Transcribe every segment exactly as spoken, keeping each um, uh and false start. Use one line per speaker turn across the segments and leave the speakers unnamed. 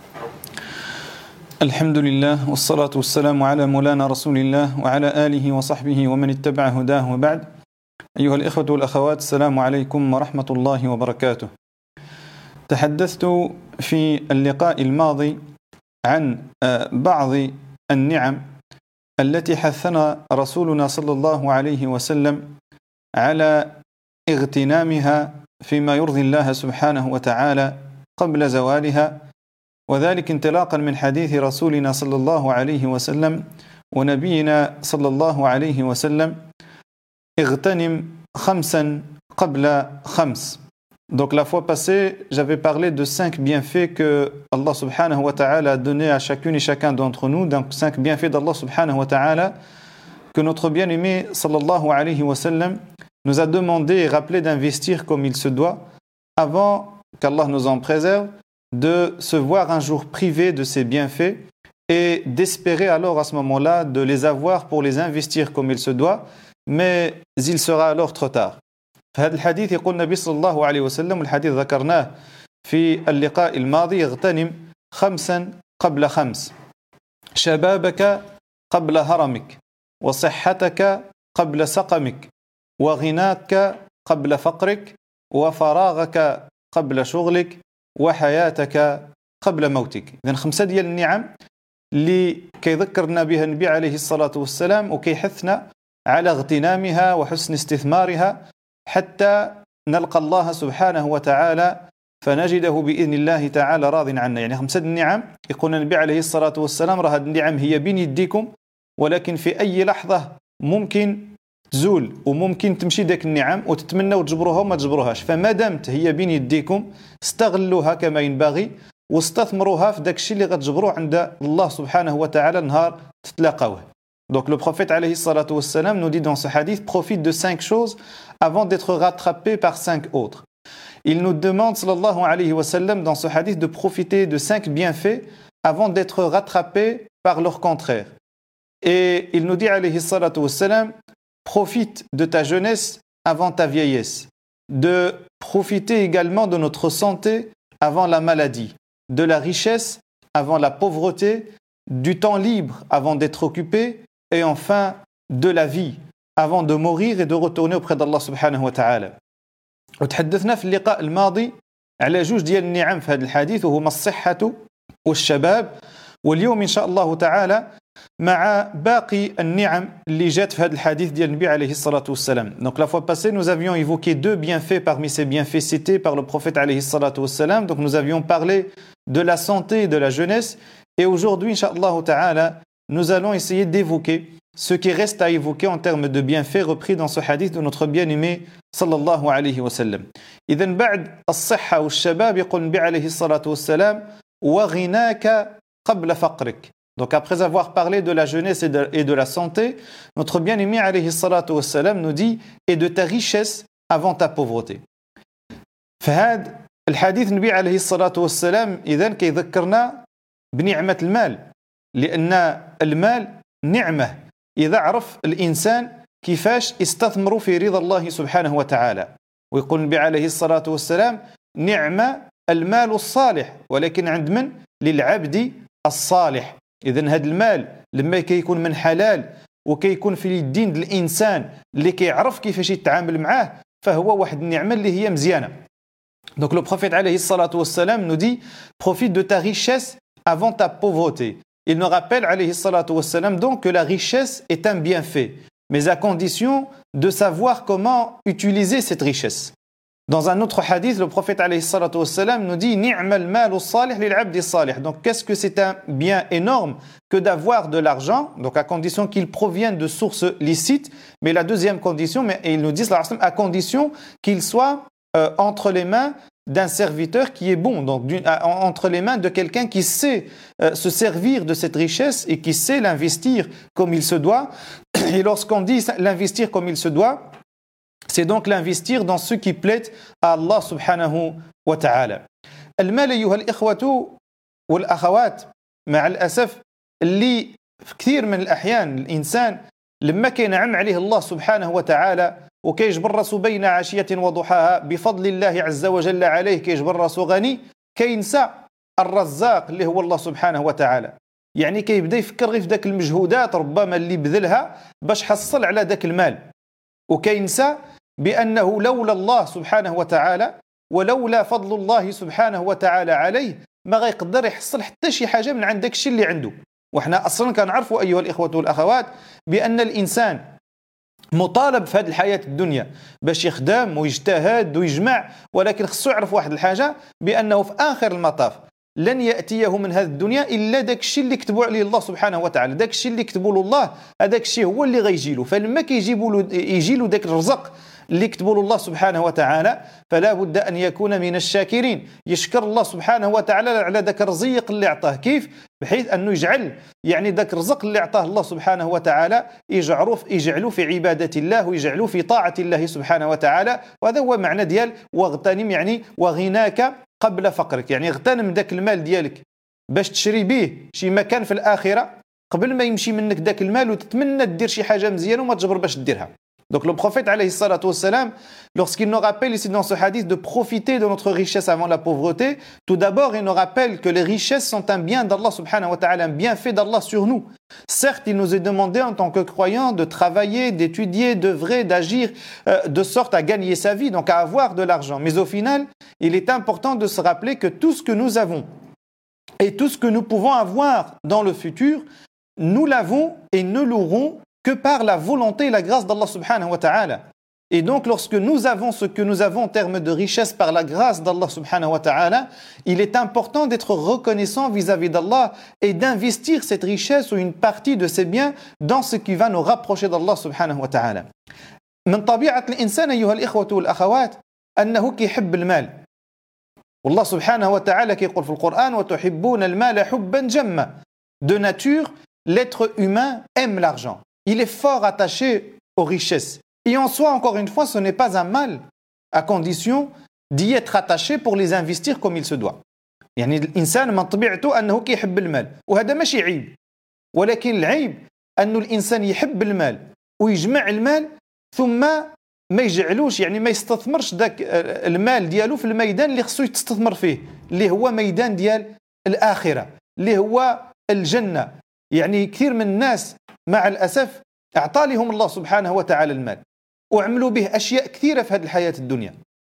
الحمد لله والصلاة والسلام على مولانا رسول الله وعلى آله وصحبه ومن اتبع هداه وبعد. أيها الإخوة والأخوات، السلام عليكم ورحمة الله وبركاته. تحدثت في اللقاء الماضي عن بعض النعم التي حثنا رسولنا صلى الله عليه وسلم على اغتنامها فيما يرضي الله سبحانه وتعالى قبل زوالها، وذلك انطلاقا من حديث رسولنا صلى الله عليه وسلم ونبينا صلى الله عليه وسلم: اغتنم خمسا قبل خمس. Donc la fois passée, j'avais parlé de cinq bienfaits que Allah subhanahu wa ta'ala a donné à chacune et chacun d'entre nous, donc cinq bienfaits d'Allah subhanahu wa ta'ala que notre bien-aimé sallallahu alayhi wa sallam nous a demandé et rappelé d'investir comme il se doit avant qu'Allah nous en préserve, de se voir un jour privé de ces bienfaits et d'espérer alors à ce moment-là de les avoir pour les investir comme il se doit, mais il sera alors trop tard. فهذا الحديث يقول النبي صلى الله عليه وسلم، والحديث ذكرناه في اللقاء الماضي: اغتنم خمسا قبل خمس، شبابك قبل هرمك، وصحتك قبل سقمك، وغناك قبل فقرك، وفراغك قبل شغلك، وحياتك قبل موتك. إذن خمسة ديال النعم اللي كيذكرنا بها النبي عليه الصلاة والسلام وكيحثنا على اغتنامها وحسن استثمارها حتى نلقى الله سبحانه وتعالى فنجده بإذن الله تعالى راض عنا. يعني خمسة النعم يقول النبي عليه الصلاة والسلام: راه هذه النعم هي بين يديكم، ولكن في أي لحظة ممكن تزول وممكن تمشي داك النعم وتتمنوا تجبروها وما تجبروهاش، فما دامت هي بين يديكم استغلوها كما ينبغي واستثمروها في داك الشيء اللي غتجبروه عند الله سبحانه وتعالى نهار تتلاقاوه. Donc le prophète alayhi salatu wassalam nous dit dans ce hadith: profite de cinq choses avant d'être rattrapé par cinq autres. Il nous demande sallallahu alayhi wa sallam dans ce hadith de profiter de cinq bienfaits avant d'être rattrapé par leur contraire. Et il nous dit alayhi salatu wassalam: profite de ta jeunesse avant ta vieillesse, de profiter également de notre santé avant la maladie, de la richesse avant la pauvreté, du temps libre avant d'être occupé, et enfin de la vie avant de mourir et de retourner auprès d'Allah subhanahu wa ta'ala. وتحدثنا في اللقاء الماضي على جوج ديال النعم في هذا الحديث، وهما الصحة والشباب، واليوم إن شاء الله تعالى مع باقي النعم اللي جات في هذا الحديث ديال النبي عليه الصلاة والسلام. Donc la fois passée, nous avions évoqué deux bienfaits parmi ces bienfaits cités par le prophète alayhi salatu wassalam. Donc nous avions parlé de la santé et de la jeunesse, et aujourd'hui, Inch'Allah ta'ala, nous allons essayer d'évoquer ce qui reste à évoquer en termes de bienfaits repris dans ce hadith de notre bien-aimé sallallahu alayhi wa sallam. إذن بعد الصحة والشباب يقول النبي عليه الصلاة والسلام: وغناك قبل فقرك. Donc après avoir parlé de la jeunesse et de, et de la santé, notre bien-aimé alayhi salatu wassalam nous dit: et de ta richesse avant ta pauvreté. فهذا الحديث النبي عليه الصلاة والسلام إذن كيذكرنا بنعمة المال، لأن المال نعمة إذا عرف الإنسان كيفاش يستثمر في رضا الله سبحانه وتعالى. ويقول النبي عليه الصلاة والسلام: نعمة المال الصالح، ولكن عند من؟ للعبد الصالح. إذن هذا المال لما كيكون من حلال وكيكون في الدين الإنسان اللي كيعرف كيفاش يتعامل معاه، فهو واحد النعمة اللي هي مزيانة. Donc le prophète alayhi salatu wassalam nous dit: profite de ta richesse avant ta pauvreté. Il nous rappelle alayhi salatu wassalam donc que la richesse est un bienfait, mais à condition de savoir comment utiliser cette richesse. Dans un autre hadith, le prophète alayhi salatu wassalam nous dit: ni'mal malu salih lil abdi salih. Donc qu'est-ce que c'est un bien énorme que d'avoir de l'argent, donc à condition qu'il provienne de sources licites, mais la deuxième condition, mais il nous dit à condition qu'il soit euh, entre les mains d'un serviteur qui est bon, donc entre les mains de quelqu'un qui sait euh, se servir de cette richesse et qui sait l'investir comme il se doit. Et lorsqu'on dit l'investir comme il se doit, c'est donc l'investir dans ce qui plaît à Allah subhanahu wa ta'ala. المال أيها الإخوة والأخوات مع الأسف اللي في كثير من الأحيان الإنسان لما كينعم عليه الله سبحانه وتعالى وكيجبر راسو بين عشية وضحاها بفضل الله عز وجل عليه، كيجبر راسو غني، كينسى الرزاق اللي هو الله سبحانه وتعالى، يعني كيبدا يفكر غير في ذاك المجهودات ربما اللي بذلها باش حصل على ذاك المال، وكينسى بأنه لولا الله سبحانه وتعالى ولولا فضل الله سبحانه وتعالى عليه ما غيقدر يحصل حتى شي حاجة من عند داك الشيء اللي عنده. وحنا أصلا كنعرفوا أيها الإخوة والأخوات بأن الإنسان مطالب في هذه الحياة الدنيا باش يخدم ويجتهد ويجمع، ولكن خصو يعرف واحد الحاجة بأنه في آخر المطاف لن يأتيه من هذه الدنيا إلا داك الشيء اللي كتبوا عليه الله سبحانه وتعالى، داك الشيء اللي كتبوا له الله هذاك الشيء هو اللي غيجي له. فلما كيجيبوا له يجي له داك الرزق اللي كتبوا له الله سبحانه وتعالى فلا بد أن يكون من الشاكرين، يشكر الله سبحانه وتعالى على ذاك الرزق اللي أعطاه. كيف؟ بحيث أنه يجعل يعني ذاك الرزق اللي أعطاه الله سبحانه وتعالى يجعلوه يجعلوه في عبادة الله ويجعلوه في طاعة الله سبحانه وتعالى. وهذا هو معنى ديال واغتنم، يعني وغناك قبل فقرك، يعني اغتنم ذاك المال ديالك باش تشري به شي مكان في الآخرة قبل ما يمشي منك ذاك المال وتتمنى دير شي حاجة مزيانة وما تجبر باش ديرها. Donc le prophète alayhi salatu wassalam, lorsqu'il nous rappelle ici dans ce hadith de profiter de notre richesse avant la pauvreté, tout d'abord il nous rappelle que les richesses sont un bien d'Allah subhanahu wa ta'ala, un bienfait d'Allah sur nous. Certes, il nous est demandé en tant que croyants de travailler, d'étudier, d'œuvrer, d'agir euh, de sorte à gagner sa vie, donc à avoir de l'argent. Mais au final, il est important de se rappeler que tout ce que nous avons et tout ce que nous pouvons avoir dans le futur, nous l'avons et ne l'aurons que par la volonté et la grâce d'Allah subhanahu wa ta'ala. Et donc lorsque nous avons ce que nous avons en termes de richesse par la grâce d'Allah subhanahu wa ta'ala, il est important d'être reconnaissant vis-à-vis d'Allah et d'investir cette richesse ou une partie de ces biens dans ce qui va nous rapprocher d'Allah subhanahu wa ta'ala. من طبيعة الإنسان أيها الإخوة والأخوات أنه كيحب المال، والله سبحانه وتعالى كيقول في القرآن وتحبون المال حبا جما. De nature, l'être humain aime l'argent. Il est fort attaché aux richesses. Et en soi, encore une fois, ce n'est pas un mal, à condition d'y être attaché pour les investir comme il se doit. يعني الإنسان من طبيعته أنه كيحب المال، وهذا ماشي عيب، ولكن العيب أن الإنسان يحب المال ويجمع المال ثم ما يجعلوش، يعني ما يستثمرش ذاك المال ديالو في الميدان اللي خصو يستثمر فيه، اللي هو ميدان ديال الآخرة، اللي هو الجنة. يعني كثير من الناس مع الأسف أعطى لهم الله سبحانه وتعالى المال وعملوا به أشياء كثيرة في هذه الحياة الدنيا،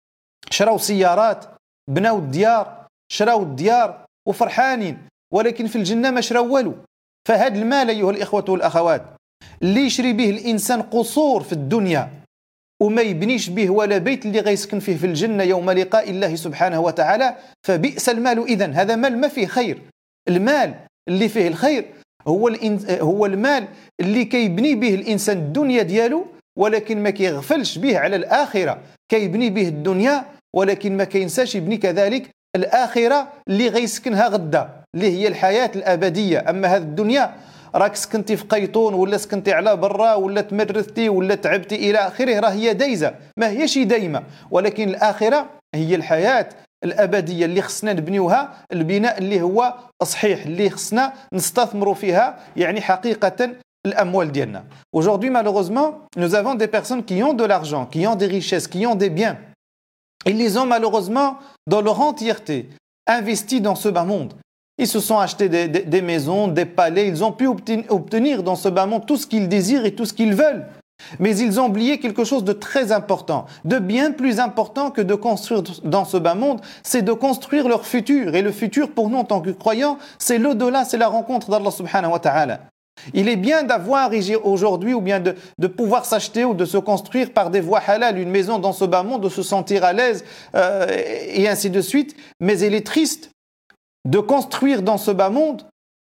شراو سيارات، بناو الديار، شراو الديار وفرحانين، ولكن في الجنة ما شراو والو. فهذا المال أيها الإخوة والأخوات اللي يشري به الإنسان قصور في الدنيا وما يبنيش به ولا بيت اللي غيسكن فيه في الجنة يوم لقاء الله سبحانه وتعالى، فبئس المال إذن. هذا مال ما فيه خير. المال اللي فيه الخير هو هو المال اللي كيبني به الإنسان الدنيا ديالو ولكن ما كيغفلش به على الآخرة، كيبني به الدنيا ولكن ما كينساش يبني كذلك الآخرة اللي غيسكنها غدا، اللي هي الحياة الأبدية. أما هذه الدنيا راك سكنتي في قيطون ولا سكنتي على برا ولا تمرثتي ولا تعبتي إلى آخره، راه هي دايزة ما هيش دايمة، ولكن الآخرة هي الحياة الأبدية اللي خصنا نبنيوها، البناء اللي هو صحيح اللي خصنا نستثمروا فيها يعني حقيقة الأموال ديالنا. Aujourd'hui malheureusement nous avons des personnes qui ont de l'argent, qui ont des richesses, qui ont des biens. Ils les ont malheureusement dans leur entièreté investis dans ce bas monde. Ils se sont achetés des, des, des maisons, des palais, ils ont pu obtenir dans ce bas monde tout ce qu'ils désirent et tout ce qu'ils veulent. Mais ils ont oublié quelque chose de très important, de bien plus important que de construire dans ce bas monde, c'est de construire leur futur. Et le futur pour nous en tant que croyants, c'est l'au-delà, c'est la rencontre d'Allah subhanahu wa ta'ala. Il est bien d'avoir aujourd'hui ou bien de, de pouvoir s'acheter ou de se construire par des voies halal une maison dans ce bas monde, de se sentir à l'aise euh, et ainsi de suite. Mais il est triste de construire dans ce bas monde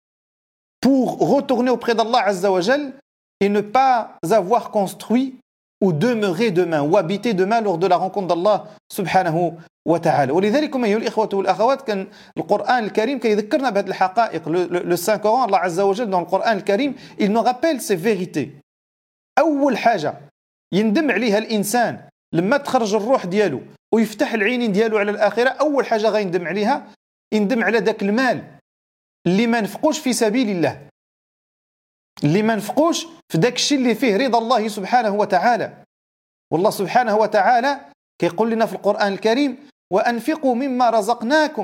pour retourner auprès d'Allah Azza wa Jal et ne pas avoir construit ou demeurer demain ou habiter demain lors de la rencontre d'Allah subhanahu wa ta'ala. ولذلك أيها الإخوة والأخوات كان القرآن الكريم كيذكرنا بهذه الحقائق. Le Saint-Coran, Allah Azza wa Jal dans le Coran الكريم, il nous rappelle ces vérités. أول حاجة يندم عليها الإنسان لما تخرج الروح ديالو ويفتح العينين ديالو على الآخرة، أول حاجة غيندم عليها يندم على ذاك المال اللي ما نفقوش في سبيل الله، اللي ما نفقوش في داك الشيء اللي فيه رضا الله سبحانه وتعالى. والله سبحانه وتعالى كيقول لنا في القرآن الكريم وأنفقوا مما رزقناكم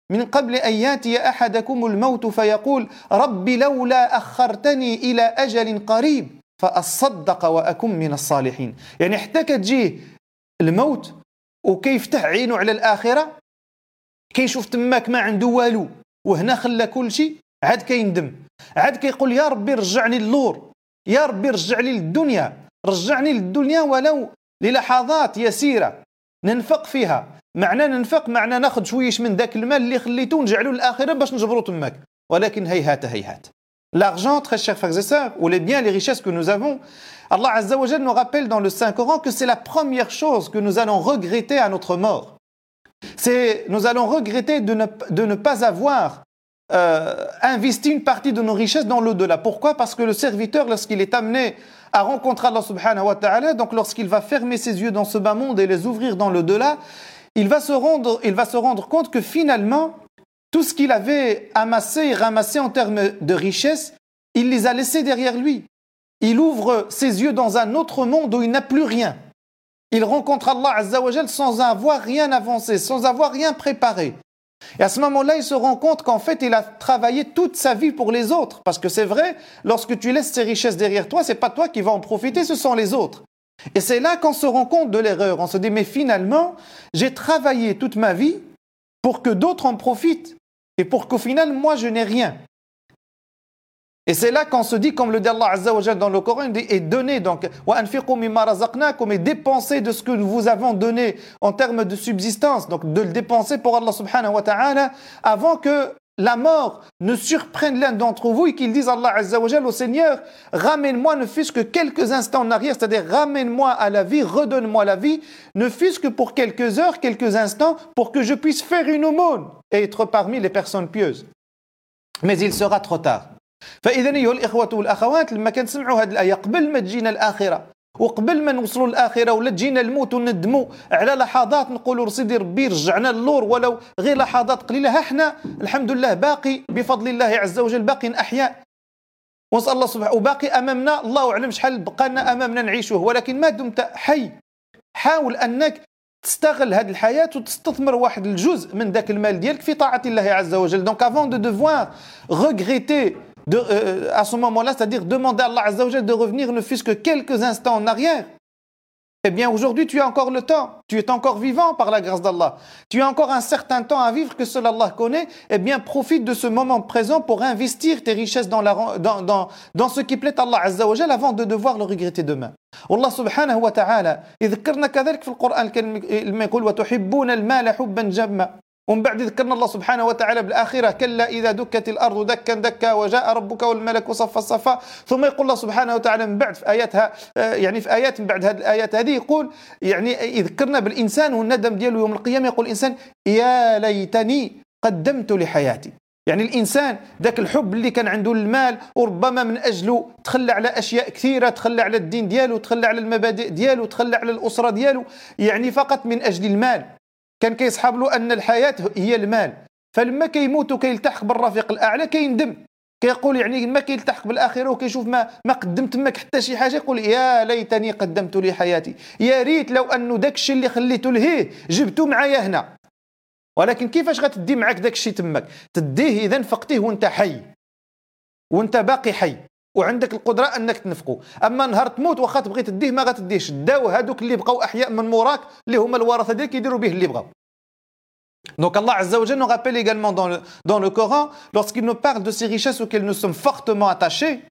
من قبل أن يأتي أحدكم الموت فيقول رب لولا أخرتني إلى أجل قريب فأصدق وأكن من الصالحين. يعني حتى كتجيه الموت وكيفتح عينه على الآخرة كيشوف تماك ما عنده والو وهنا خلى كل شيء، عاد كيندم، عاد كيقول يا ربي رجعني اللور، يا ربي رجعني للدنيا، رجعني للدنيا ولو للحظات يسيرة ننفق فيها. معنى ننفق معنى ناخذ شويش من ذاك المال اللي خليته ونجعله للآخرة باش نجبرو تماك. ولكن هيهات هيهات. L'argent, très chers frères et sœurs, ou les biens, les richesses que nous avons, Allah Azza wa Jal nous rappelle dans le Saint-Coran que c'est la première chose que nous allons regretter à notre mort. C'est, nous allons regretter de ne, de ne pas avoir euh, investi une partie de nos richesses dans l'au-delà. Pourquoi? Parce que le serviteur, lorsqu'il est amené à rencontrer Allah subhanahu wa ta'ala, donc lorsqu'il va fermer ses yeux dans ce bas monde et les ouvrir dans l'au-delà, il va se rendre, il va se rendre compte que finalement, tout ce qu'il avait amassé et ramassé en termes de richesse, il les a laissés derrière lui. Il ouvre ses yeux dans un autre monde où il n'a plus rien. Il rencontre Allah Azza wa Jal sans avoir rien avancé, sans avoir rien préparé. Et à ce moment-là, il se rend compte qu'en fait, il a travaillé toute sa vie pour les autres. Parce que c'est vrai, lorsque tu laisses ces richesses derrière toi, c'est pas toi qui vas en profiter, ce sont les autres. Et c'est là qu'on se rend compte de l'erreur. On se dit, mais finalement, j'ai travaillé toute ma vie pour que d'autres en profitent. Et pour qu'au final, moi, je n'ai rien. Et c'est là qu'on se dit, comme le dit Allah Azza wa Jal dans le Coran, et donner, donc, وَأَنْفِقُوا مِمَّا رَزَقْنَاكُمْ, et dépenser de ce que nous vous avons donné en termes de subsistance, donc de le dépenser pour Allah subhanahu wa ta'ala, avant que la mort ne surprenne l'un d'entre vous et qu'il dise Allah Azza wa Jal au Seigneur, ramène-moi ne fût-ce que quelques instants en arrière, c'est-à-dire ramène-moi à la vie, redonne-moi la vie, ne fût-ce que pour quelques heures, quelques instants, pour que je puisse faire une aumône et être parmi les personnes pieuses. Mais il sera trop tard. فإذا أيها الإخوة والأخوات لما كنسمعوا هذه الآية قبل ما تجينا الآخرة وقبل ما نوصلوا للآخرة ولا تجينا الموت وندموا على لحظات نقولوا سيدي ربي رجعنا للور ولو غير لحظات قليلة، ها احنا الحمد لله باقي بفضل الله عز وجل باقي أحياء ونسأل الله سبحانه وباقي أمامنا الله أعلم شحال بقى لنا أمامنا نعيشه، ولكن ما دمت حي حاول أنك تستغل هذه الحياة وتستثمر واحد الجزء من ذاك المال ديالك في طاعة الله عز وجل. Donc avant de devoir regretter De, euh, à ce moment-là, c'est-à-dire demander à Allah Azza wa Jal de revenir ne fût-ce que quelques instants en arrière, eh bien aujourd'hui tu as encore le temps, tu es encore vivant par la grâce d'Allah, tu as encore un certain temps à vivre que seul Allah connaît, eh bien profite de ce moment présent pour investir tes richesses dans, la, dans, dans, dans ce qui plaît à Allah Azza wa Jal avant de devoir le regretter demain. Allah subhanahu wa ta'ala يذكرنا كذلك في القرآن لما يقول وتحبون المال حبا جما، ومن بعد ذكرنا الله سبحانه وتعالى بالآخرة كلا إذا دكت الأرض دكا دكا وجاء ربك والملك صفا صفا، ثم يقول الله سبحانه وتعالى من بعد في آياتها يعني في آيات من بعد هذه الآيات هذه يقول يعني يذكرنا بالإنسان والندم دياله يوم القيامة، يقول الإنسان يا ليتني قدمت لحياتي. يعني الإنسان ذاك الحب اللي كان عنده المال وربما من أجله تخلى على أشياء كثيرة، تخلى على الدين دياله، تخلى على المبادئ دياله، تخلى على الأسرة دياله، يعني فقط من أجل المال. كان كيصحاب له أن الحياة هي المال، فلما كيموت وكيلتحق بالرفيق الأعلى كيندم، كيقول يعني ما كيلتحق بالآخرة وكيشوف ما ما قدمت تماك حتى شي حاجة، يقول يا ليتني قدمت لي حياتي، يا ريت لو أنه داك الشيء اللي خليته لهيه جبته معايا هنا. ولكن كيفاش غتدي معاك داك الشيء تماك؟ تديه إذا نفقتيه وانت حي وانت باقي حي وعندك القدرة أنك تنفقه. أما نهار تموت واخا تبغي تديه ما غتديهش، داو هادوك اللي بقاو أحياء من موراك اللي هما الورثة ديالك يديروا به اللي بغاو. Donc Allah Azza wa Jal nous rappelle également dans le, dans le Coran, lorsqu'il nous parle de ces richesses auxquelles nous sommes fortement attachés,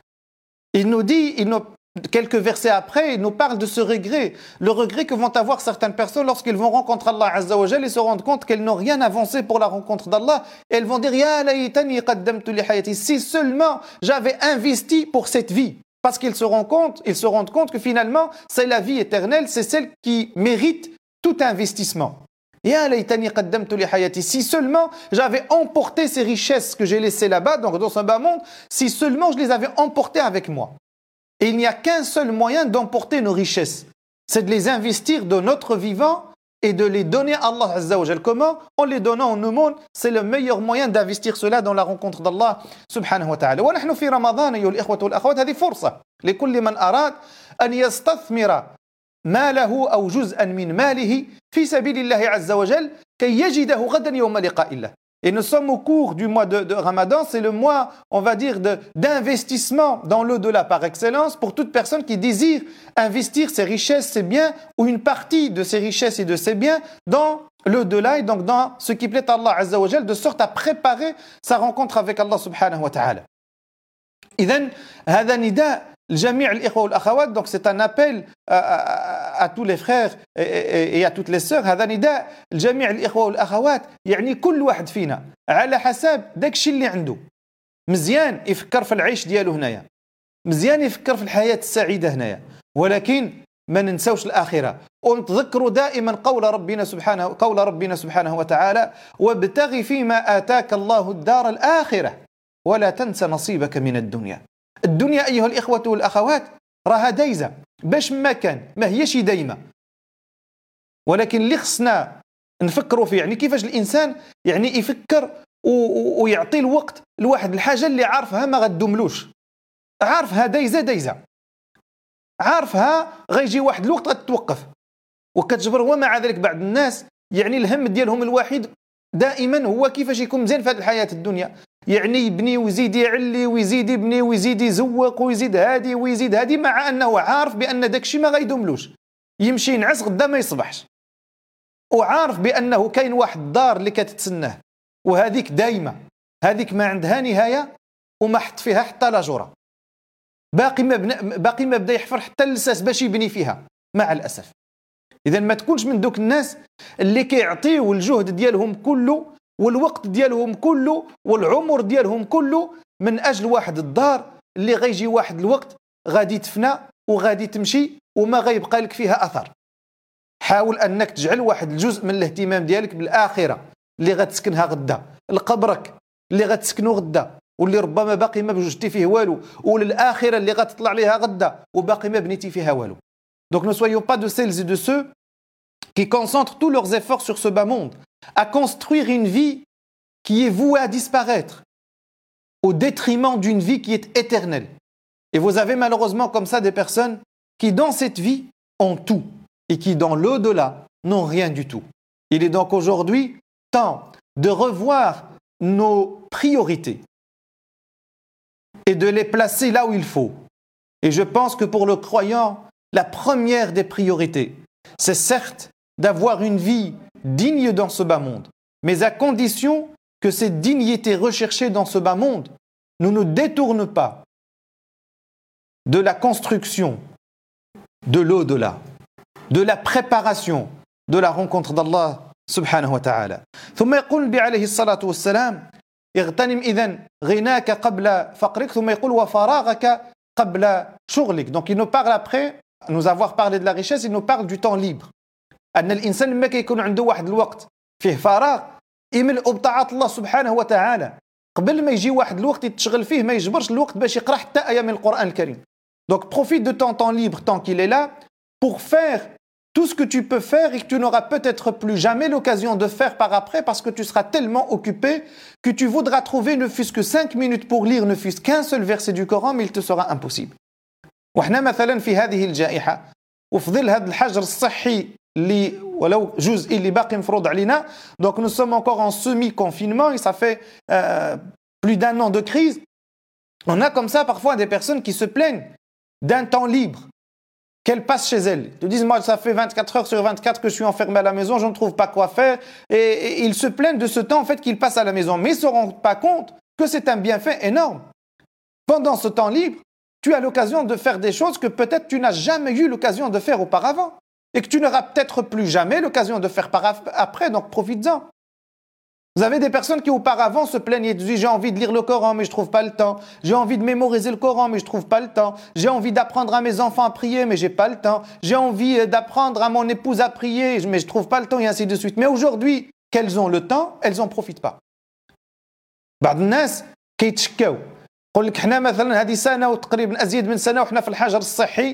il nous dit, il nous, quelques versets après, il nous parle de ce regret, le regret que vont avoir certaines personnes lorsqu'ils vont rencontrer Allah Azza wa Jal et se rendre compte qu'elles n'ont rien avancé pour la rencontre d'Allah, et elles vont dire Ya laytani qaddamtu li hayati, si seulement j'avais investi pour cette vie. Parce qu'ils se rendent compte, ils se rendent compte que finalement, c'est la vie éternelle, c'est celle qui mérite tout investissement. Ya laytani qaddamtu li hayati, si seulement j'avais emporté ces richesses que j'ai laissées là-bas, donc dans ce bas monde, si seulement je les avais emportées avec moi. Et il n'y a qu'un seul moyen d'emporter nos richesses, c'est de les investir de notre vivant et de les donner à Allah Azza wa Jal. Comment? En les donnant en aumône, c'est le meilleur moyen d'investir cela dans la rencontre d'Allah subhanahu wa ta'ala. ونحن في رمضان أيها الإخوة والأخوات هذه فرصة لكل من أراد أن يستثمر ماله أو جزءا من ماله في سبيل الله عز وجل كي يجده غدا يوم لقاء الله.
Et nous sommes au cours du mois de, de Ramadan, c'est le mois, on va dire, de, d'investissement dans l'au-delà par excellence pour toute personne qui désire investir ses richesses, ses biens, ou une partie de ses richesses et de ses biens dans l'au-delà, et donc dans ce qui plaît à Allah Azza wa Jal, de sorte à préparer sa rencontre avec Allah subhanahu wa ta'ala. إذن هذا نداء لجميع الإخوة والأخوات, donc c'est un appel à, à, à tous les frères et, et, et à toutes les sœurs. هذا نداء لجميع الإخوة والأخوات, يعني كل واحد فينا على حسب داك الشيء اللي عنده. مزيان يفكر في العيش ديالو هنايا, مزيان يفكر في الحياة السعيدة هنايا, ولكن ما ننسوش الآخرة, ونتذكروا دائما قول ربنا سبحانه قول ربنا سبحانه وتعالى: وابتغ فيما آتاك الله الدار الآخرة ولا تنس نصيبك من الدنيا. الدنيا أيها الإخوة والأخوات راها دايزة باش ما كان, ما هيش دايمة, ولكن اللي خصنا نفكروا فيه يعني كيفاش الإنسان يعني يفكر ويعطي الوقت لواحد الحاجة اللي عارفها ما غدوملوش, عارفها دايزة دايزة, عارفها غيجي واحد الوقت غتتوقف وكتجبر. ومع ذلك بعض الناس يعني الهم ديالهم الوحيد دائما هو كيفاش يكون مزيان في هذه الحياة الدنيا, يعني يبني ويزيد يعلي ويزيد يبني ويزيد يزوق ويزيد هادي ويزيد هادي, مع أنه عارف بأن داكشي ما غيدوملوش, يمشي ينعس غدا ما يصبحش, وعارف بأنه كاين واحد الدار اللي كتتسناه وهذيك دايمة, هذيك ما عندها نهاية وما حط فيها حتى لاجورة, باقي ما بنا باقي ما بدا يحفر حتى اللساس باش يبني فيها مع الأسف. إذا ما تكونش من دوك الناس اللي كيعطيو الجهد ديالهم كله والوقت ديالهم كله والعمر ديالهم كله من أجل واحد الدار اللي غيجي واحد الوقت غادي تفنى وغادي تمشي وما غيبقى لك فيها أثر. حاول أنك تجعل واحد الجزء من الاهتمام ديالك بالآخرة اللي غتسكنها غدا, لقبرك اللي غتسكنه غدا واللي ربما باقي ما بوجدتي فيه والو, وللآخرة اللي غتطلع ليها غدا وباقي ما بنيتي فيها والو. Donc ne soyons pas de celles et de ceux qui concentrent tous leurs efforts sur ce bas monde, à construire une vie qui est vouée à disparaître, au détriment d'une vie qui est éternelle. Et vous avez malheureusement comme ça des personnes qui dans cette vie ont tout et qui dans l'au-delà n'ont rien du tout. Il est donc aujourd'hui temps de revoir nos priorités et de les placer là où il faut. Et je pense que pour le croyant, la première des priorités, c'est certes d'avoir une vie digne dans ce bas monde, mais à condition que cette dignité recherchée dans ce bas monde ne nous détourne pas de la construction de l'au-delà, de la préparation de la rencontre d'Allah subhanahu wa ta'ala. ثم يقول النبي عليه الصلاة والسلام: اغتنم إذن غناك قبل فقرك, ثم يقول وفراغك قبل شغلك. Donc il nous parle après nous avoir parlé de la richesse, il nous parle du temps libre. أن الإنسان لما كيكون عنده واحد الوقت فيه فراغ يملأ بطاعة الله سبحانه وتعالى, قبل ما يجي واحد الوقت يتشغل فيه ما يجبرش الوقت باش يقرأ حتى آية من القرآن الكريم. Donc profite de ton temps libre tant qu'il est là pour faire tout ce que tu peux faire et que tu n'auras peut-être plus jamais l'occasion de faire par après parce que tu seras tellement occupé que tu voudras trouver ne fût-ce que cinq minutes pour lire ne fût-ce qu'un seul verset du Coran, mais il te sera impossible. وإحنا مثلا في هذه الجائحة وفي ظل هذا الحجر الصحي اللي ولو جزء اللي باقي مفروض علينا, donc nous sommes encore en semi-confinement et ça fait euh, plus d'un an de crise. On a comme ça parfois des personnes qui se plaignent d'un temps libre qu'elles passent chez elles. Ils disent: moi ça fait vingt-quatre heures sur vingt-quatre que je suis enfermé à la maison, je ne trouve pas quoi faire, et, et ils se plaignent de ce temps en fait qu'ils passent à la maison, mais ils ne se rendent pas compte que c'est un bienfait énorme. Pendant ce temps libre, tu as l'occasion de faire des choses que peut-être tu n'as jamais eu l'occasion de faire auparavant et que tu n'auras peut-être plus jamais l'occasion de faire par après, donc profites-en. Vous avez des personnes qui auparavant se plaignaient, disaient: j'ai envie de lire le Coran mais je ne trouve pas le temps, j'ai envie de mémoriser le Coran mais je ne trouve pas le temps, j'ai envie d'apprendre à mes enfants à prier mais je n'ai pas le temps, j'ai envie d'apprendre à mon épouse à prier mais je ne trouve pas le temps, et ainsi de suite. Mais aujourd'hui, qu'elles ont le temps, elles n'en profitent pas. بعض الناس كيتشكاو يقول لك: احنا مثلا هذه سنه وتقريبا ازيد من سنه وحنا في الحجر الصحي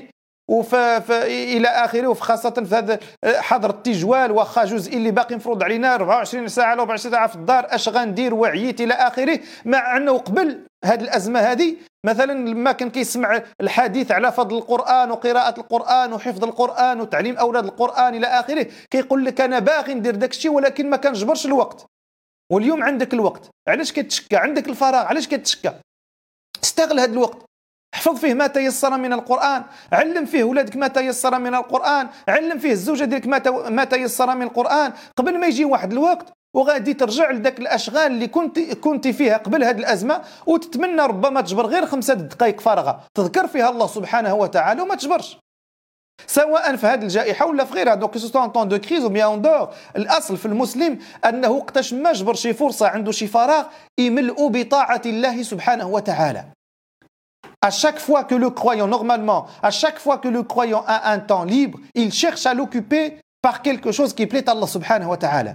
الى اخره, وفي خاصه في هذا حظر التجوال واخا جزء اللي باقي مفروض علينا أربعة وعشرين ساعه ولا أربعة وعشرين ساعه في الدار, اش غندير وعييت الى اخره. مع انه قبل هذه الازمه هذه مثلا لما كان كيسمع الحديث على فضل القران وقراءه القران وحفظ القران وتعليم اولاد القران الى اخره, كيقول لك انا باغي ندير داك الشيء ولكن ما كنجبرش الوقت. واليوم عندك الوقت، علاش كتشكى؟ عندك الفراغ، علاش كتشكى؟ استغل هذا الوقت، احفظ فيه ما تيسر من القرآن، علم فيه ولادك ما تيسر من القرآن، علم فيه الزوجة ديالك ما تيسر من القرآن، قبل ما يجي واحد الوقت وغادي ترجع لذاك الاشغال اللي كنت كنت فيها قبل هذه الازمه، وتتمنى ربما تجبر غير خمسة دقائق فارغه تذكر فيها الله سبحانه وتعالى وما تجبرش، سواء في هذه الجائحه ولا في غيرها. دونك سو ان طون دو كريز او بيان دور، الاصل في المسلم انه وقتاش ما جبر شي فرصه عنده شي فراغ يملؤ بطاعه الله سبحانه وتعالى. À chaque fois que le croyant, normalement, à chaque fois que le croyant a un temps libre, il cherche à l'occuper par quelque chose qui plaît à Allah subhanahu wa ta'ala.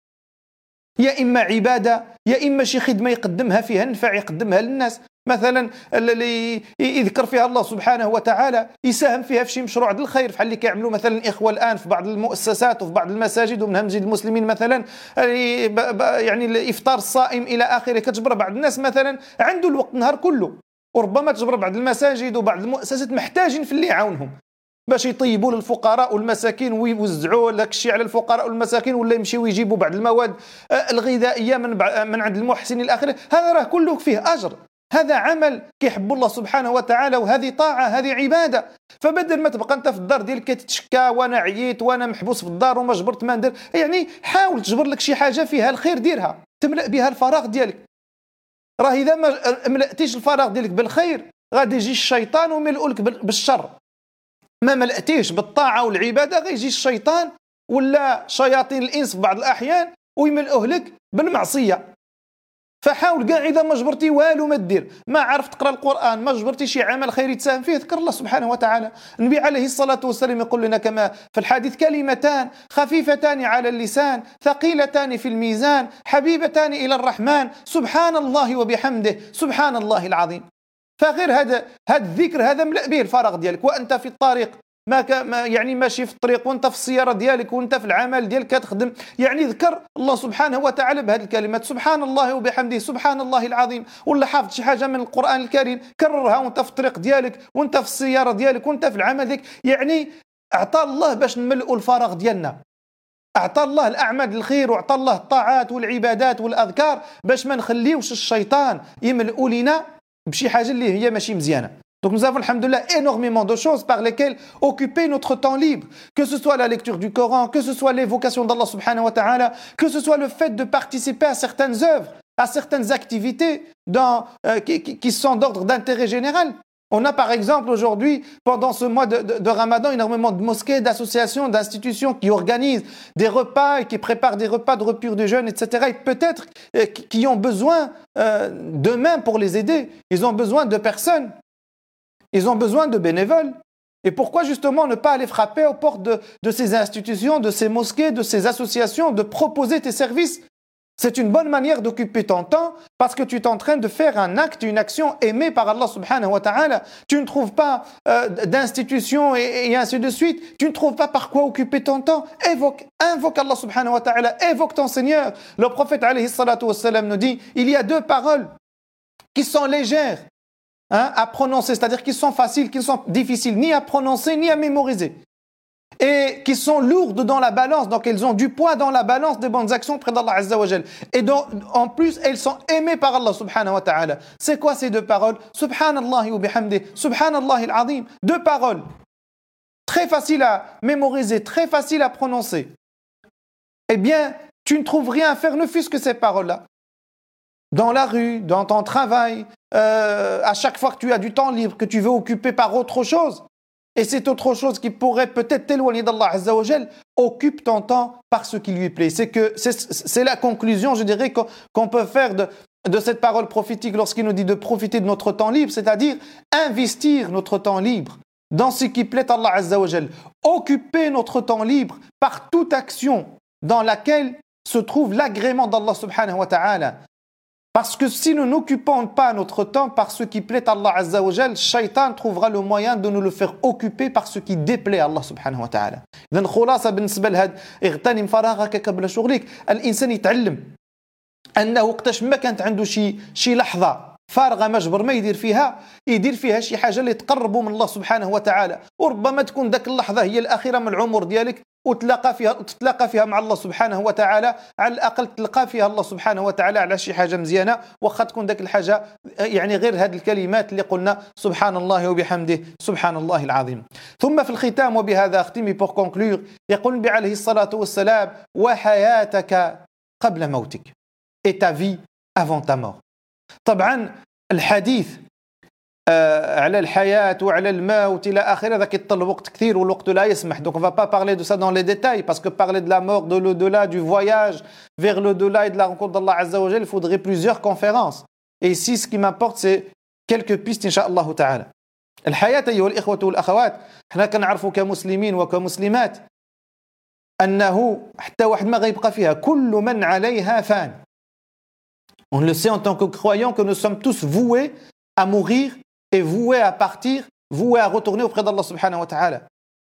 يا إما عبادة، يا إما شي خدمة يقدمها فيها نفع يقدمها للناس، مثلا اللي يذكر فيها الله سبحانه وتعالى، يساهم فيها في شي مشروع ديال الخير، بحال اللي كيعملوا مثلا الإخوة الآن في بعض المؤسسات وفي بعض المساجد ومنها مسجد المسلمين مثلا، يعني الإفطار الصائم إلى آخره. كتجبر بعض الناس مثلا عنده الوقت النهار كله، وربما تجبر بعض المساجد وبعض المؤسسات محتاجين في اللي يعاونهم باش يطيبوا للفقراء والمساكين ويوزعوا لك الشيء على الفقراء والمساكين، ولا يمشيوا يجيبوا بعض المواد الغذائيه من من عند المحسنين الاخرين. هذا راه كله فيه اجر، هذا عمل كيحب الله سبحانه وتعالى، وهذه طاعه، هذه عباده. فبدل ما تبقى انت في الدار ديالك كتشكى وانا عييت وانا محبوس في الدار وما جبرت ما ندير، يعني حاول تجبر لك شي حاجه فيها الخير ديرها، تملأ بها الفراغ ديالك. راه اذا ما ملأتيش الفراغ ديالك بالخير غادي يجي الشيطان ويملؤ لك بالشر. ما ملأتيش بالطاعة والعبادة غيجي الشيطان ولا شياطين الإنس في بعض الأحيان ويملؤه لك بالمعصية. فحاول كاع إذا ما جبرتي والو ما دير، ما عرفت تقرأ القرآن، ما جبرتي شي عمل خيري تساهم فيه، ذكر الله سبحانه وتعالى. النبي عليه الصلاة والسلام يقول لنا كما في الحديث: كلمتان خفيفتان على اللسان ثقيلتان في الميزان حبيبتان إلى الرحمن سبحان الله وبحمده سبحان الله العظيم. فغير هذا هذا الذكر هذا ملأ به الفراغ ديالك، وانت في الطريق ما, ك... ما يعني ماشي في الطريق، وانت في السياره ديالك، وانت في العمل ديالك كتخدم، يعني ذكر الله سبحانه وتعالى بهذه الكلمات: سبحان الله وبحمده سبحان الله العظيم. ولا حافظ شي حاجه من القران الكريم كررها وانت في الطريق ديالك، وانت في السياره ديالك، وانت في العمل ديالك. يعني اعطى الله باش نملؤوا الفراغ ديالنا، اعطى الله الاعمال الخير، واعطى الله الطاعات والعبادات والاذكار باش ما نخليوش الشيطان يملؤ لنا بشي حاجه اللي هي ماشي مزيانه. Donc nous avons, alhamdoulilah, énormément de choses par lesquelles occuper notre temps libre, que ce soit la lecture du Coran, que ce soit l'évocation d'Allah subhanahu wa ta'ala, que ce soit le fait de participer à certaines œuvres, à certaines activités dans, euh, qui, qui, qui sont d'ordre d'intérêt général. On a par exemple aujourd'hui, pendant ce mois de, de, de Ramadan, énormément de mosquées, d'associations, d'institutions qui organisent des repas et qui préparent des repas de rupture de jeûne, et cetera. Et peut-être euh, qui ont besoin euh, de mains pour les aider. Ils ont besoin de personnes. Ils ont besoin de bénévoles. Et pourquoi justement ne pas aller frapper aux portes de, de ces institutions, de ces mosquées, de ces associations, de proposer tes services? C'est une bonne manière d'occuper ton temps parce que tu es en train de faire un acte, une action aimée par Allah subhanahu wa ta'ala. Tu ne trouves pas euh, d'institution et, et ainsi de suite. Tu ne trouves pas par quoi occuper ton temps. Évoque, invoque Allah subhanahu wa ta'ala, évoque ton Seigneur. Le prophète alayhi salatu wassalam nous dit: il y a deux paroles qui sont légères hein, à prononcer, c'est-à-dire qui sont faciles, qui sont difficiles ni à prononcer ni à mémoriser, et qui sont lourdes dans la balance, donc elles ont du poids dans la balance des bonnes actions près d'Allah Azza wa Jal. Et donc, en plus, elles sont aimées par Allah subhanahu wa ta'ala. C'est quoi ces deux paroles? Subhanallah wa bihamdi, Subhanallah al-Azim. Deux paroles, très faciles à mémoriser, très faciles à prononcer. Eh bien, tu ne trouves rien à faire, ne fût-ce que ces paroles-là. Dans la rue, dans ton travail, euh, à chaque fois que tu as du temps libre, que tu veux occuper par autre chose, et c'est autre chose qui pourrait peut-être t'éloigner d'Allah Azza wa Jal, occupe ton temps par ce qui lui plaît. C'est que c'est, c'est la conclusion, je dirais, qu'on, qu'on peut faire de, de cette parole prophétique lorsqu'il nous dit de profiter de notre temps libre, c'est-à-dire investir notre temps libre dans ce qui plaît à Allah Azza wa Jal. Occuper notre temps libre par toute action dans laquelle se trouve l'agrément d'Allah subhanahu wa ta'ala. Parce que si nous n'occupons pas notre temps par ce qui plaît à Allah Azza wa Jal, Shaitan trouvera le moyen de nous le faire occuper par ce qui déplaît à Allah subhanahu wa ta'ala. إذن خلاصة بالنسبة لهذا اغتنم فراغك قبل شغلك. الإنسان يتعلم أنه وقتاش ما كانت عنده شي شي لحظة فارغة مجبر ما يدير فيها، يدير فيها شي حاجة اللي تقربه من الله سبحانه وتعالى، وربما تكون ذاك اللحظة هي الأخيرة من العمر ديالك، وتلاقى فيها تتلاقى فيها مع الله سبحانه وتعالى، على الأقل تلقى فيها الله سبحانه وتعالى على شي حاجة مزيانة، واخا تكون ذاك الحاجة يعني غير هذه الكلمات اللي قلنا سبحان الله وبحمده سبحان الله العظيم. ثم في الختام، وبهذا أختم pour conclure، يقول النبي عليه الصلاة والسلام: وحياتك قبل موتك، et ta vie avant ta mort. طبعا الحديث آه على الحياة وعلى الموت إلى آخره هذا كيطلب وقت كثير والوقت لا يسمح. Donc on va pas parler de ça dans les détails, parce que parler de la mort, de l'au-delà, du voyage vers l'au-delà et de la rencontre d'Allah Azza wa Jal, il faudrait plusieurs conférences. Et ici ce qui m'importe c'est quelques pistes إن شاء الله تعالى. الحياة أيها الإخوة والأخوات، احنا كنعرفوا كمسلمين وكمسلمات أنه حتى واحد ما غيبقى فيها، كل من عليها فان. On le sait en tant que croyants que nous sommes tous voués à mourir et voués à partir, voués à retourner auprès d'Allah subhanahu wa ta'ala.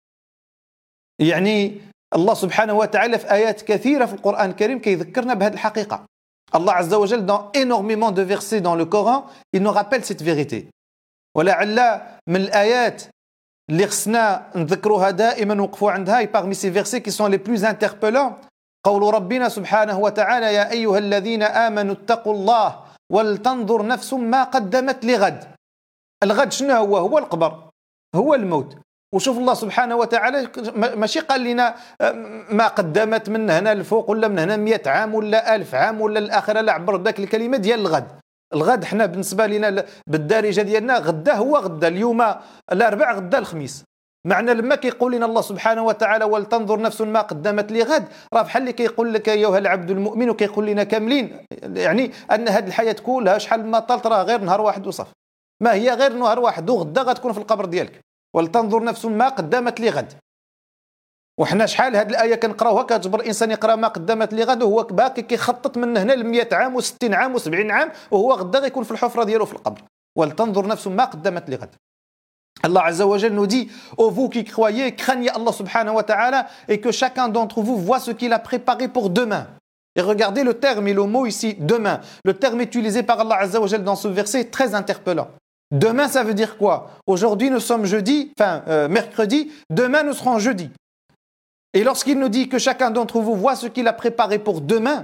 يعني الله سبحانه وتعالى في آيات كثيرة في القرآن الكريم كيذكرنا بهذه الحقيقة. Allah Azza wa Jal, dans énormément de versets dans le Coran, il nous rappelle cette vérité. ولعل من الآيات اللي خصنا نذكروها دائما ونوقفوا عندها، parmi ces versets qui sont les plus interpellants، قول ربنا سبحانه وتعالى: يا أيها الذين آمنوا اتقوا الله ولتنظر نفس ما قدمت لغد. الغد شنو هو؟ هو القبر، هو الموت. وشوف الله سبحانه وتعالى ماشي قال لنا ما قدمت من هنا الفوق ولا من هنا مئة عام ولا ألف عام ولا الآخرة، لا عبر ذاك الكلمة ديال الغد. الغد حنا بالنسبة لنا بالدارجة ديالنا غدا هو غدا، اليوم الأربع غدا الخميس. معنى لما كيقول لنا الله سبحانه وتعالى ولتنظر نفس ما قدمت لغد، راه بحال اللي كيقول لك ايها العبد المؤمن، وكيقول لنا كاملين يعني ان هذه الحياه كلها شحال ما طالت راه غير نهار واحد وصف، ما هي غير نهار واحد، وغدا غتكون في القبر ديالك. ولتنظر نفس ما قدمت لغد. وحنا شحال هذه الايه كنقراوها كتجبر الانسان يقرا ما قدمت لغد وهو باقي كيخطط من هنا ل مئة عام وستين عام وسبعين عام، وهو غدا غيكون في الحفره ديالو في القبر. ولتنظر نفس ما قدمت لغد. Allah Azza wa Jal nous dit: ô vous qui croyez, craignez Allah subhanahu wa ta'ala, et que chacun d'entre vous voit ce qu'il a préparé pour demain. Et regardez le terme et le mot ici, demain. Le terme utilisé par Allah Azza wa Jal dans ce verset est très interpellant. Demain, ça veut dire quoi? Aujourd'hui, nous sommes jeudi, enfin euh, mercredi, demain, nous serons jeudi. Et lorsqu'il nous dit que chacun d'entre vous voit ce qu'il a préparé pour demain,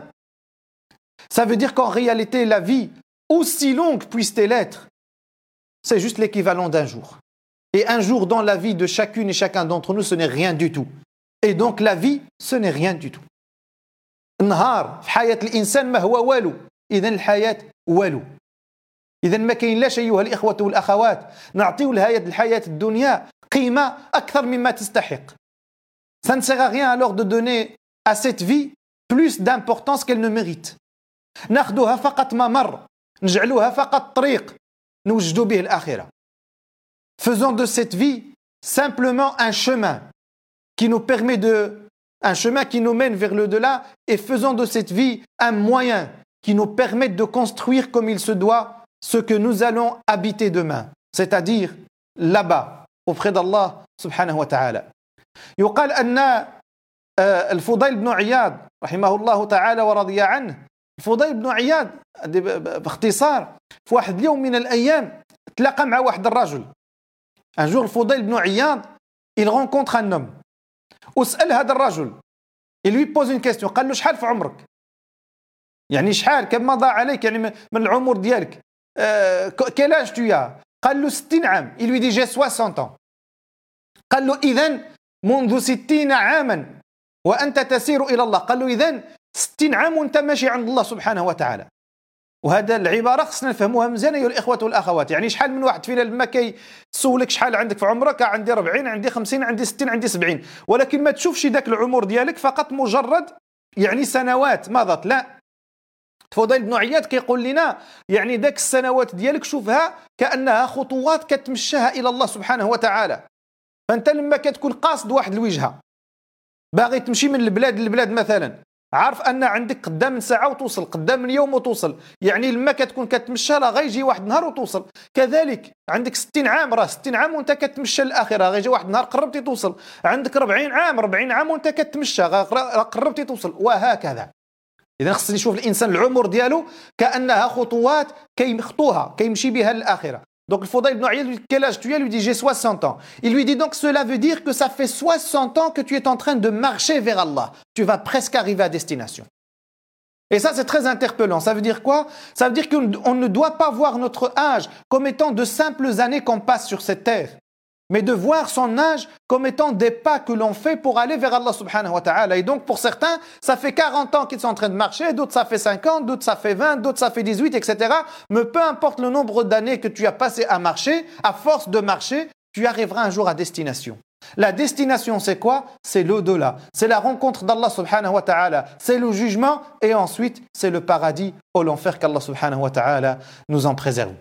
ça veut dire qu'en réalité, la vie, aussi longue puisse-t-elle être, c'est juste l'équivalent d'un jour. Et un jour dans la vie de chacune et chacun d'entre nous, ce n'est rien du tout. Et donc la vie, ce n'est rien du tout. النهار في حياة الإنسان ما هو والو، إذن الحياة والو. إذن ما كاين لاش أيها الإخوة والأخوات نعطيو لهذه الحياة الدنيا قيمة أكثر مما تستحق. Ça ne sert à rien alors de donner à cette vie plus d'importance qu'elle ne mérite. ناخذوها فقط ممر، نجعلوها فقط طريق نوجدوا به الآخرة. Faisons de cette vie simplement un chemin qui nous permet de, un chemin qui nous mène vers le delà, et faisons de cette vie un moyen qui nous permette de construire comme il se doit ce que nous allons habiter demain, c'est-à-dire là-bas auprès d'Allah subhanahu wa ta'ala. يقال أن الفضيل بن عياض رحمه الله تعالى ورضي عنه، الفضيل بن عياض باختصار في واحد اليوم من الأيام تلاقى مع واحد الرجل. Un jour, Fudayl ibn Iyad, il rencontre un homme. وسأل هذا الرجل. Il lui pose une question. قال له شحال في عمرك؟ يعني شحال كم مضى عليك يعني من العمر ديالك؟ euh, quel âge tu as؟ قال له ستين عام. Il lui dit j'ai soixante ans. قال له إذن منذ ستين عاما وأنت تسير إلى الله. قال له إذن ستين عام وأنت ماشي عند الله سبحانه وتعالى. وهذا العبارة خصنا نفهموها مزيان أيها الإخوة والأخوات. يعني شحال من واحد فينا لما كيسولك شحال عندك في عمرك، عندي أربعين، عندي خمسين، عندي ستين، عندي سبعين، ولكن ما تشوفش ذاك العمر ديالك فقط مجرد يعني سنوات مضت، لا. فضيل بن عياض كيقول لنا يعني ذاك السنوات ديالك شوفها كأنها خطوات كتمشاها إلى الله سبحانه وتعالى. فأنت لما كتكون قاصد واحد الوجهة باغي تمشي من البلاد للبلاد مثلا، عارف ان عندك قدام من ساعه وتوصل، قدام من يوم وتوصل، يعني لما كتكون كتمشى راه غيجي واحد النهار وتوصل. كذلك عندك ستين عام، راه ستين عام وانت كتمشى للاخره، غيجي واحد النهار قربتي توصل. عندك أربعين عام، أربعين عام وانت كتمشى، راه قربتي توصل، وهكذا. اذا خصني نشوف الانسان العمر ديالو كانها خطوات كيخطوها كيمشي بها للاخره. Donc le Fudayl ibn Iyad lui dit quel âge tu as? Il lui dit j'ai soixante ans. Il lui dit donc cela veut dire que ça fait soixante ans que tu es en train de marcher vers Allah. Tu vas presque arriver à destination. Et ça c'est très interpellant. Ça veut dire quoi? Ça veut dire qu'on ne doit pas voir notre âge comme étant de simples années qu'on passe sur cette terre, mais de voir son âge comme étant des pas que l'on fait pour aller vers Allah subhanahu wa ta'ala. Et donc pour certains, ça fait quarante ans qu'ils sont en train de marcher, d'autres ça fait cinquante, d'autres ça fait vingt, d'autres ça fait dix-huit, et cetera. Mais peu importe le nombre d'années que tu as passé à marcher, à force de marcher, tu arriveras un jour à destination. La destination c'est quoi? C'est l'au-delà, c'est la rencontre d'Allah subhanahu wa ta'ala, c'est le jugement et ensuite c'est le paradis ou l'enfer qu'Allah subhanahu wa ta'ala nous en préserve.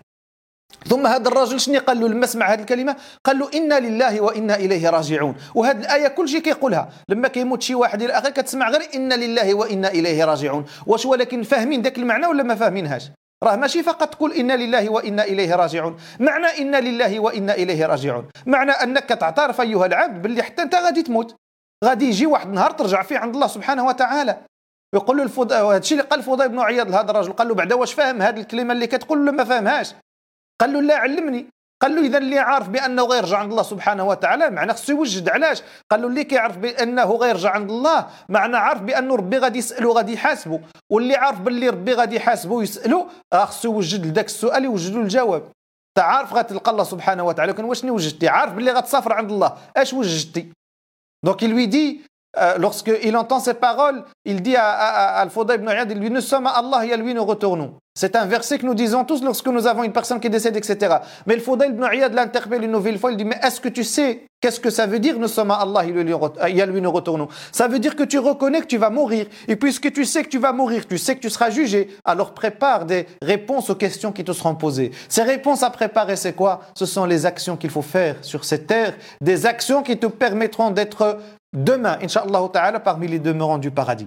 ثم هذا الرجل شنو قال له لما سمع هذه الكلمه؟ قال له انا لله وانا اليه راجعون. وهذه الايه كل شيء كيقولها لما كيموت شي واحد الى اخره كتسمع غير انا لله وانا اليه راجعون. واش ولكن فاهمين ذاك المعنى ولا ما فاهمينهاش؟ راه ماشي فقط تقول انا لله وانا اليه راجعون. معنى انا لله وانا اليه راجعون معنى انك تعترف ايها العبد باللي حتى انت غادي تموت، غادي يجي واحد النهار ترجع فيه عند الله سبحانه وتعالى. يقول له الفض... هذا الشيء اللي قال الفضيل بن عياض لهذا الرجل، قال له بعدا واش فاهم هذه الكلمه اللي كتقول ولا ما فاهمهاش؟ قال له لا علمني. قال له اذا اللي عارف بانه غيرجع عند الله سبحانه وتعالى معناه خصو يوجد. علاش؟ قال له اللي كيعرف بانه غيرجع عند الله معناه عارف بانه ربي غادي يسالو غادي يحاسبه، واللي عارف باللي ربي غادي يحاسبه ويسالو راه خصو يوجد لذاك السؤال يوجد له الجواب. انت عارف غتلقى الله سبحانه وتعالى، ولكن واش وجدتي؟ عارف باللي غتسافر عند الله، اش وجدتي؟ دونك il lui dit euh, lorsque il entend ces paroles, il dit à, à, à Al-Fudayl ibn Iyad, il lui nous sommes à Allah et à lui nous retournons. C'est un verset que nous disons tous lorsque nous avons une personne qui décède, et cetera. Mais le Fudayl ibn Iyad l'interpelle une nouvelle fois, il dit mais est-ce que tu sais qu'est-ce que ça veut dire nous sommes à Allah et à lui nous retournons? Ça veut dire que tu reconnais que tu vas mourir, et puisque tu sais que tu vas mourir, tu sais que tu seras jugé, alors prépare des réponses aux questions qui te seront posées. Ces réponses à préparer, c'est quoi? Ce sont les actions qu'il faut faire sur cette terre, des actions qui te permettront d'être demain, Inch'Allah ta'ala, parmi les demeurants du paradis.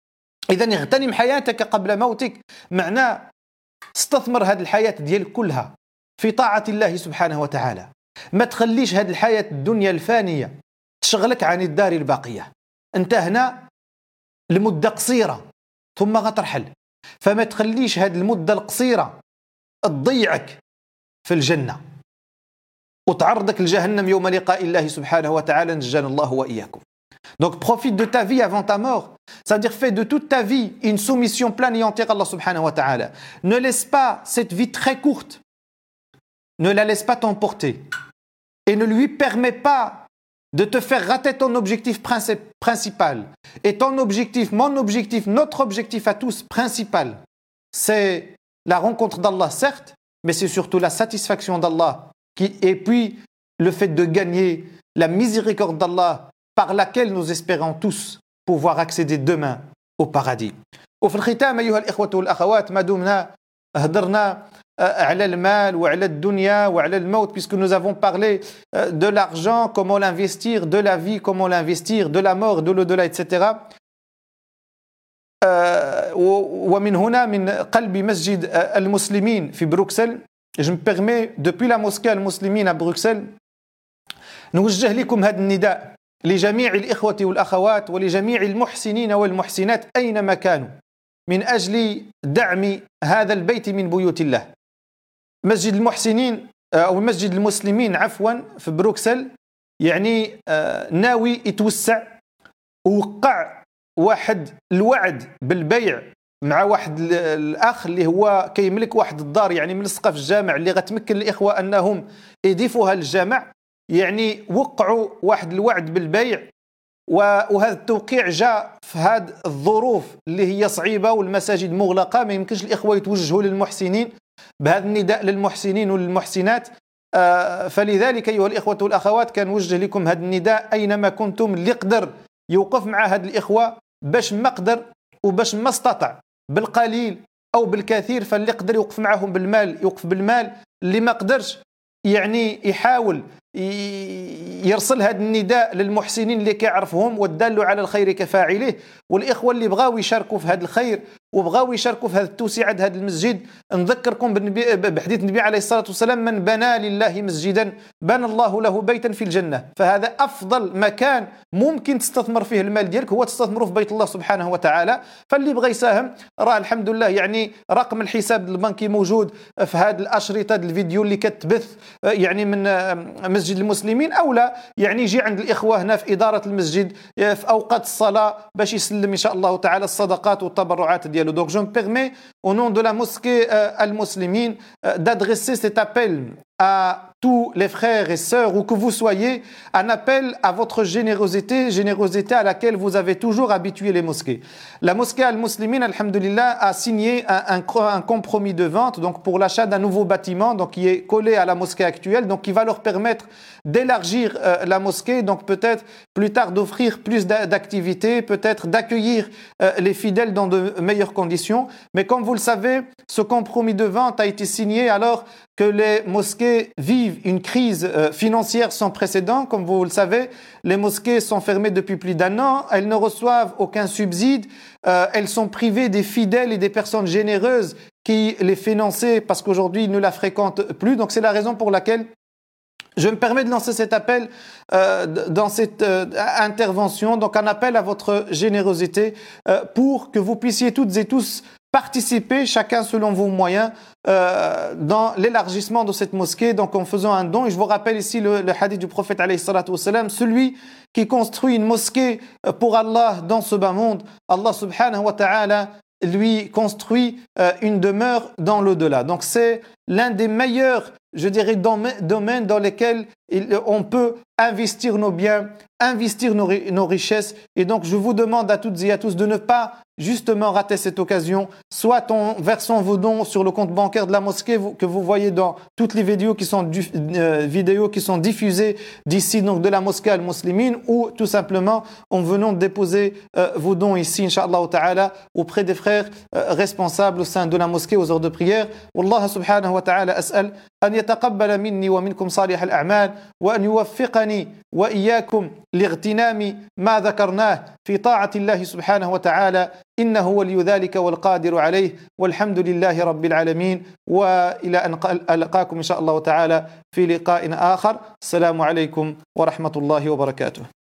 إذن اغتنم حياتك قبل موتك معناه استثمر هذه الحياة ديالك كلها في طاعة الله سبحانه وتعالى. ما تخليش هذه الحياة الدنيا الفانية تشغلك عن الدار الباقية. أنت هنا لمدة قصيرة ثم غترحل، فما تخليش هذه المدة القصيرة تضيعك في الجنة وتعرضك لجهنم يوم لقاء الله سبحانه وتعالى، نجانا الله وإياكم. Donc profite de ta vie avant ta mort. Ça veut dire fais de toute ta vie une soumission pleine et entière à Allah subhanahu wa ta'ala. Ne laisse pas cette vie très courte, ne la laisse pas t'emporter et ne lui permets pas de te faire rater ton objectif principal. Et ton objectif, mon objectif, notre objectif à tous principal, c'est la rencontre d'Allah certes, mais c'est surtout la satisfaction d'Allah qui, et puis le fait de gagner la miséricorde d'Allah par laquelle nous espérons tous pouvoir accéder demain au paradis. وفي الختام أيها الإخوة والأخوات ما دمنا هدرنا على المال وعلى الدنيا وعلى الموت, puisque nous avons parlé de l'argent, comment l'investir, de la vie, comment l'investir, de la mort, de l'au-delà, et cetera. ومن هنا من قلب مسجد المسلمين في بروكسل, je me permets depuis la mosquée المسلمين à Bruxelles نوجه لكم هذا النداء لجميع الإخوة والأخوات ولجميع المحسنين والمحسنات أينما كانوا من أجل دعم هذا البيت من بيوت الله. مسجد المحسنين أو مسجد المسلمين عفوا في بروكسل يعني ناوي يتوسع, ووقع واحد الوعد بالبيع مع واحد الأخ اللي هو كيملك واحد الدار يعني ملصقة في الجامع اللي غتمكن الإخوة أنهم يضيفوها للجامع. يعني وقعوا واحد الوعد بالبيع, وهذا التوقيع جاء في هذه الظروف اللي هي صعيبة والمساجد مغلقة, ما يمكنش الإخوة يتوجهوا للمحسنين بهذا النداء للمحسنين وللمحسنات. فلذلك أيها الإخوة والأخوات كان وجه لكم هذا النداء أينما كنتم, اللي قدر يوقف مع هذه الإخوة باش ما قدر وباش ما استطاع بالقليل أو بالكثير, فاللي قدر يوقف معهم بالمال يوقف بالمال, اللي ما قدرش يعني يحاول يرسل هذا النداء للمحسنين اللي كيعرفهم, والدال على الخير كفاعله. والإخوة اللي بغاو يشاركوا في هذا الخير وبغاو يشاركوا في هذه التوسعة هذا المسجد. نذكركم بحديث النبي عليه الصلاة والسلام: من بنى لله مسجدا بنى الله له بيتا في الجنة. فهذا أفضل مكان ممكن تستثمر فيه المال ديالك هو تستثمره في بيت الله سبحانه وتعالى. فاللي بغى يساهم راه الحمد لله يعني رقم الحساب البنكي موجود في هذه الأشرطة الفيديو اللي كتبث يعني من مسجد المسلمين، أو لا يعني يجي عند الإخوة هنا في إدارة المسجد في أوقات الصلاة باش يسلم إن شاء الله تعالى الصدقات والتبرعات ديالو. Donc je me permets au nom de la mosquée euh, Al-Muslimine euh, d'adresser cet appel à tous les frères et sœurs, où que vous soyez, un appel à votre générosité, générosité à laquelle vous avez toujours habitué les mosquées. La mosquée Al-Muslimine, alhamdulillah, a signé un, un, un compromis de vente donc pour l'achat d'un nouveau bâtiment donc qui est collé à la mosquée actuelle, donc qui va leur permettre d'élargir euh, la mosquée, donc peut-être plus tard d'offrir plus d'activités, peut-être d'accueillir euh, les fidèles dans de meilleures conditions. Mais comme vous le savez, ce compromis de vente a été signé alors que les mosquées vivent une crise euh, financière sans précédent. Comme vous le savez, les mosquées sont fermées depuis plus d'un an, elles ne reçoivent aucun subside, euh, elles sont privées des fidèles et des personnes généreuses qui les finançaient parce qu'aujourd'hui ils ne la fréquentent plus. Donc c'est la raison pour laquelle je me permets de lancer cet appel euh, dans cette euh, intervention, donc un appel à votre générosité euh, pour que vous puissiez toutes et tous participer, chacun selon vos moyens, euh, dans l'élargissement de cette mosquée, donc en faisant un don. Et je vous rappelle ici le, le hadith du prophète alayhi salatu wassalam: celui qui construit une mosquée pour Allah dans ce bas monde, Allah subhanahu wa ta'ala lui construit euh, une demeure dans l'au-delà. Donc c'est l'un des meilleurs, je dirais, domaines dans lesquels il, on peut investir nos biens, investir nos, nos richesses. Et donc je vous demande à toutes et à tous de ne pas justement rater cette occasion, soit en versant vos dons sur le compte bancaire de la mosquée vous, que vous voyez dans toutes les vidéos qui sont, du, euh, vidéos qui sont diffusées d'ici, donc de la mosquée Al-Muslimine, ou tout simplement en venant déposer euh, vos dons ici, Inch'Allah ta'ala, auprès des frères euh, responsables au sein de la mosquée aux heures de prière. Wallah subhanahu wa ta'ala as'al an yataqabbala minni wa minkum salih al-a'mal wa an yuwaffiqani wa iyyakum lightinami ma dhakarnah fi ta'ati Allah subhanahu wa ta'ala إنه ولي ذلك والقادر عليه والحمد لله رب العالمين وإلى أن ألقاكم إن شاء الله تعالى في لقاء آخر. السلام عليكم ورحمة الله وبركاته.